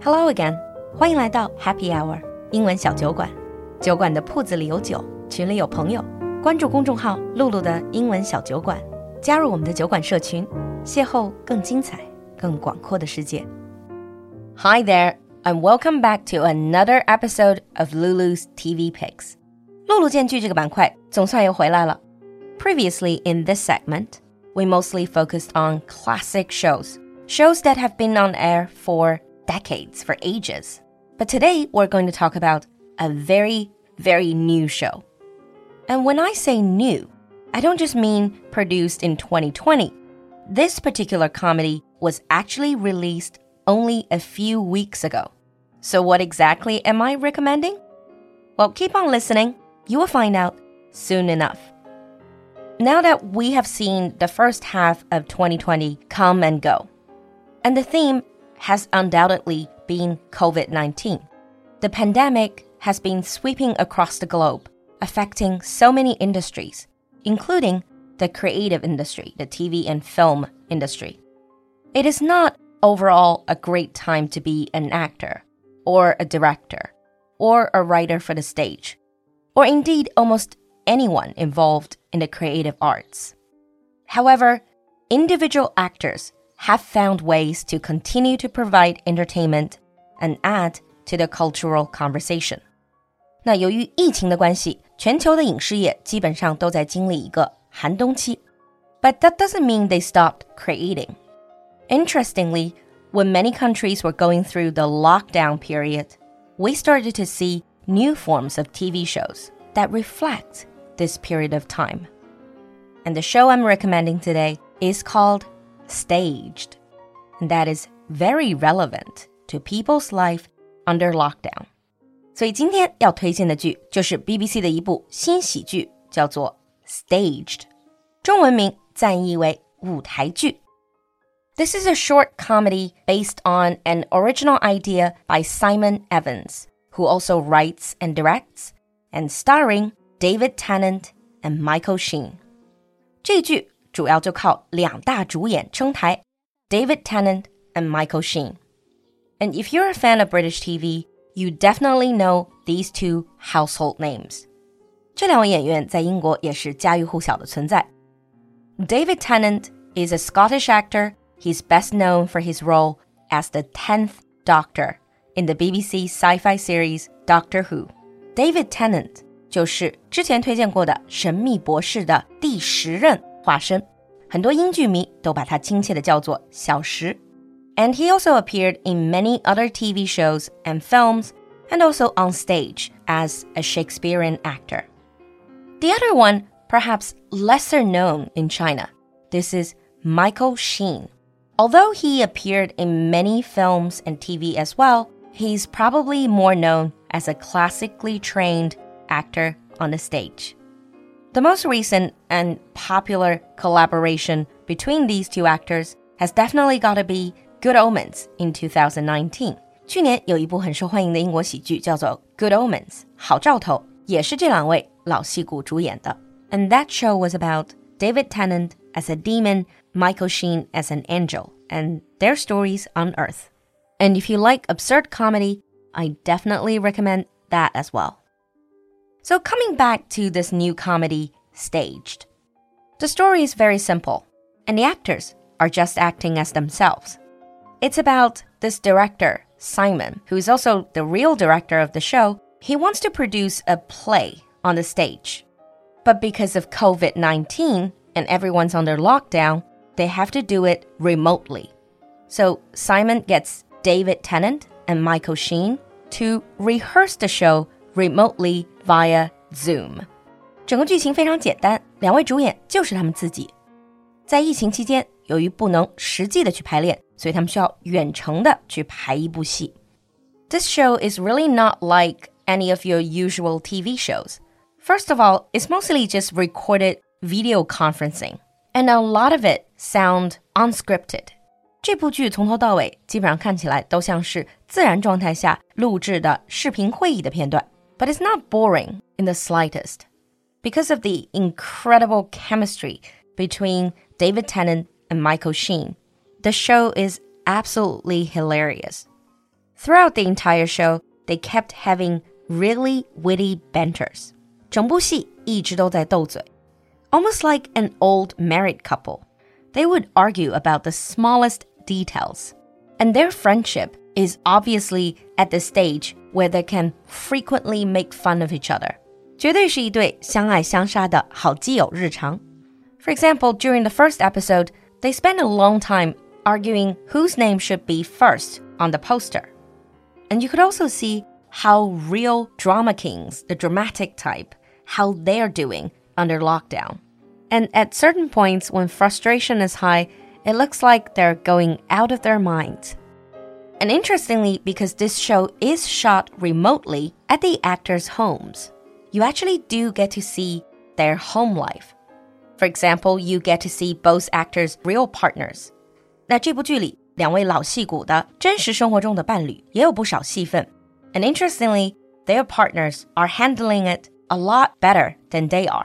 Hello again， 欢迎来到 Happy Hour 英文小酒馆。酒馆的铺子里有酒，群里有朋友。关注公众号“露露的英文小酒馆”，加入我们的酒馆社群，邂逅更精彩、更广阔的世界。Hi there, and welcome back to another episode of Lulu's TV Picks. 露露见剧这个板块总算又回来了。Previously in this segment, we mostly focused on classic shows that have been on air for decades, for ages. But today we're going to talk about a very, very new show. And when I say new, I don't just mean produced in 2020. This particular comedy was actually released only a few weeks ago. So what exactly am I recommending? Well, keep on listening. You will find out soon enough. Now that we have seen the first half of 2020 come and go, and the theme has undoubtedly been COVID-19. The pandemic has been sweeping across the globe, affecting so many industries, including the creative industry, the TV and film industry. It is not overall a great time to be an actor, or a director, or a writer for the stage, or indeed almost anyone involved in the creative arts. However, individual actors have found ways to continue to provide entertainment and add to the cultural conversation. 那由于疫情的关系，全球的影视业基本上都在经历一个寒冬期。But that doesn't mean they stopped creating. Interestingly, when many countries were going through the lockdown period, we started to see new forms of TV shows that reflect this period of time. And the show I'm recommending today is called Staged. And that is very relevant to people's life under lockdown. 所以今天要推荐的剧就是 BBC 的一部新喜剧，叫做 Staged. 中文名暂译为舞台剧。This is a short comedy based on an original idea by Simon Evans, who also writes and directs, and starring David Tennant and Michael Sheen. 这剧主要就靠两大主演撑台 David Tennant and Michael Sheen. And if you're a fan of British TV, you definitely know these two household names. 这两位演员在英国也是家喻户晓的存在。David Tennant is a Scottish actor. He's best known for his role as the 10th Doctor in the BBC sci-fi series Doctor Who. David Tennant 就是之前推荐过的神秘博士的第10任化身，很多英剧迷都把他亲切地叫做小石。And he also appeared in many other TV shows and films, and also on stage as a Shakespearean actor. The other one, perhaps lesser known in China, this is Michael Sheen. Although he appeared in many films and TV as well, he's probably more known as a classically trained actor on the stage. The most recent and popular collaboration between these two actors has definitely got to be Good Omens in 2019. 去年有一部很受欢迎的英国喜剧叫做 Good Omens, 好兆头，也是这两位老戏骨主演的。And that show was about David Tennant as a demon, Michael Sheen as an angel, and their stories on Earth. And if you like absurd comedy, I definitely recommend that as well. So coming back to this new comedy, Staged. The story is very simple, and the actors are just acting as themselves. It's about this director, Simon, who is also the real director of the show. He wants to produce a play on the stage. But because of COVID-19 and everyone's under lockdown, they have to do it remotely. So Simon gets David Tennant and Michael Sheen to rehearse the show remotely via Zoom. 整个剧情非常简单，两位主演就是他们自己。在疫情期间，由于不能实际的去排练，所以他们需要远程的去排一部戏。This show is really not like any of your usual TV shows. First of all, it's mostly just recorded video conferencing, and a lot of it sound unscripted. 这部剧从头到尾基本上看起来都像是自然状态下录制的视频会议的片段。But it's not boring in the slightest. Because of the incredible chemistry between David Tennant and Michael Sheen, the show is absolutely hilarious. Throughout the entire show, they kept having really witty banters. 整部戏一直都在斗嘴 Almost like an old married couple. They would argue about the smallest details. And their friendship is obviously at the stage where they can frequently make fun of each other. 绝对是一对相爱相杀的好基友日常 For example, during the first episode, they spent a long time arguing whose name should be first on the poster. And you could also see how real drama kings, the dramatic type, how they're doing under lockdown. And at certain points when frustration is high, it looks like they're going out of their minds. And interestingly, because this show is shot remotely at the actors' homes, you actually do get to see their home life. For example, you get to see both actors' real partners. 那这部剧里，两位老戏骨的真实生活中的伴侣也有不少戏份。And interestingly, their partners are handling it a lot better than they are.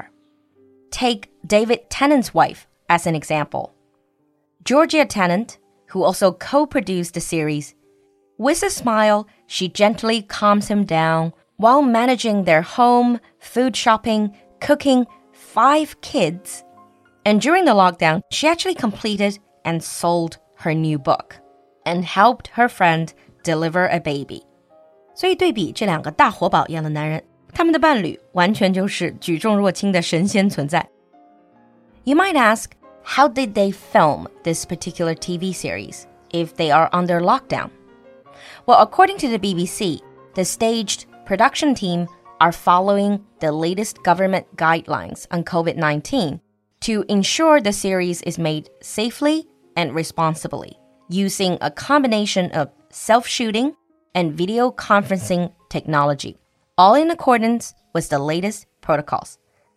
Take David Tennant's wife as an example. Georgia Tennant, who also co-produced the series, with a smile, she gently calms him down while managing their home, food shopping, cooking, 5 kids. And during the lockdown, she actually completed and sold her new book and helped her friend deliver a baby. 所以对比这两个大活宝一样的男人，他们的伴侣完全就是举重若轻的神仙存在。You might ask, how did they film this particular TV series if they are under lockdown? Well, according to the BBC, the staged production team are following the latest government guidelines on COVID-19 to ensure the series is made safely and responsibly, using a combination of self-shooting and video conferencing technology, all in accordance with the latest protocols.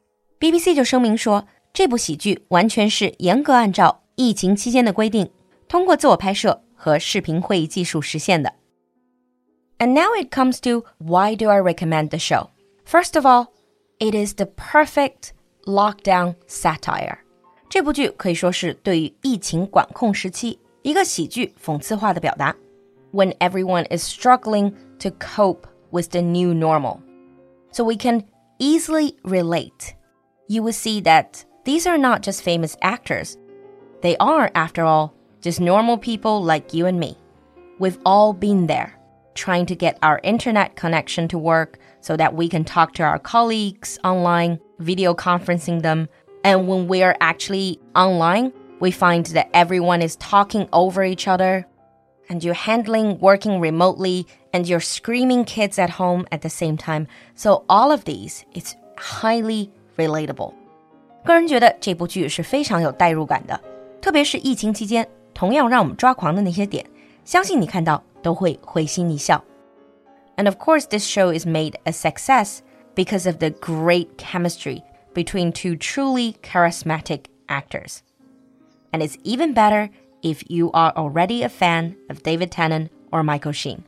BBC 就声明说，这部喜剧完全是严格按照疫情期间的规定，通过自我拍摄和视频会议技术实现的。And now it comes to why do I recommend the show? First of all, it is the perfect lockdown satire. 这部剧可以说是对于疫情管控时期一个喜剧讽刺化的表达。When everyone is struggling to cope with the new normal. So we can easily relate. You will see that these are not just famous actors. They are, after all, just normal people like you and me. We've all been there, trying to get our internet connection to work so that we can talk to our colleagues online, video conferencing them. And when we're actually online, we find that everyone is talking over each other, and you're handling working remotely, and you're screaming kids at home at the same time. So all of these, it's highly relatable. 个人觉得这部剧是非常有代入感的，特别是疫情期间，同样让我们抓狂的那些点，相信你看到都会会心一笑。And of course, this show is made a success because of the great chemistry between two truly charismatic actors. And it's even better if you are already a fan of David Tennant or Michael Sheen.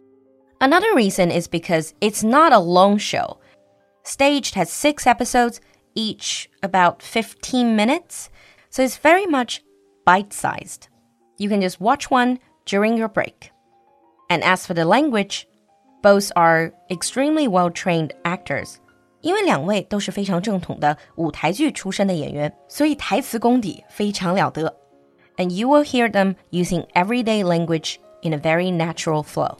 Another reason is because it's not a long show. Staged has 6 episodes, each about 15 minutes, so it's very much bite-sized. You can just watch one during your break. And as for the language, both are extremely well-trained actors. 因为两位都是非常正统的舞台剧出身的演员，所以台词功底非常了得。And you will hear them using everyday language in a very natural flow.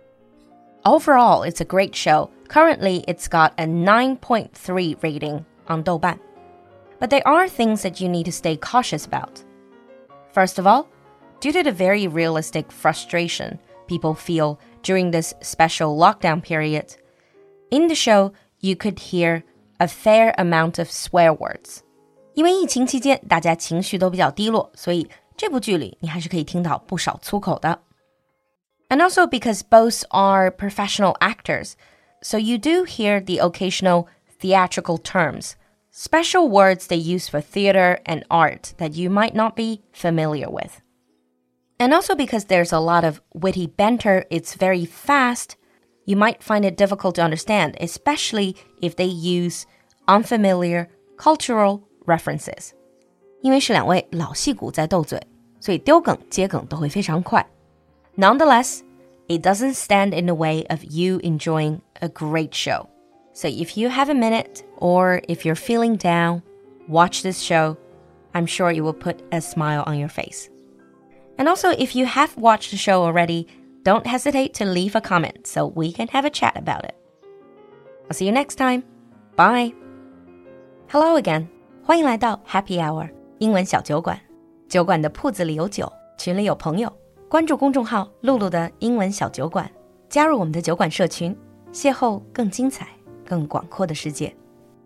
Overall, it's a great show. Currently, it's got a 9.3 rating on Douban. But there are things that you need to stay cautious about. First of all, due to the very realistic frustration people feel during this special lockdown period, in the show, you could hear a fair amount of swear words. 因为疫情期间大家情绪都比较低落，所以这部剧里你还是可以听到不少粗口的。And also because both are professional actors, so you do hear the occasional theatrical terms, special words they use for theater and art that you might not be familiar with. And also because there's a lot of witty banter, it's very fast, you might find it difficult to understand, especially if they use unfamiliar cultural references. 因为是两位老戏骨在斗嘴，所以丢梗接梗都会非常快。Nonetheless, it doesn't stand in the way of you enjoying a great show. So if you have a minute, or if you're feeling down, watch this show. I'm sure it will put a smile on your face. And also, if you have watched the show already, don't hesitate to leave a comment so we can have a chat about it. I'll see you next time. Bye. Hello again. 欢迎来到 Happy Hour 英文小酒馆。酒馆的铺子里有酒，群里有朋友。关注公众号露露的英文小酒馆，加入我们的酒馆社群，邂逅更精彩、更广阔的世界。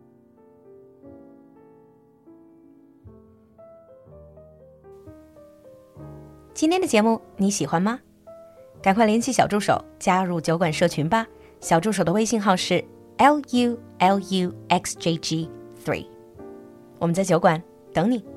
今天的节目你喜欢吗？赶快联系小助手加入酒馆社群吧。小助手的微信号是 LULUXJG3。我们在酒馆等你。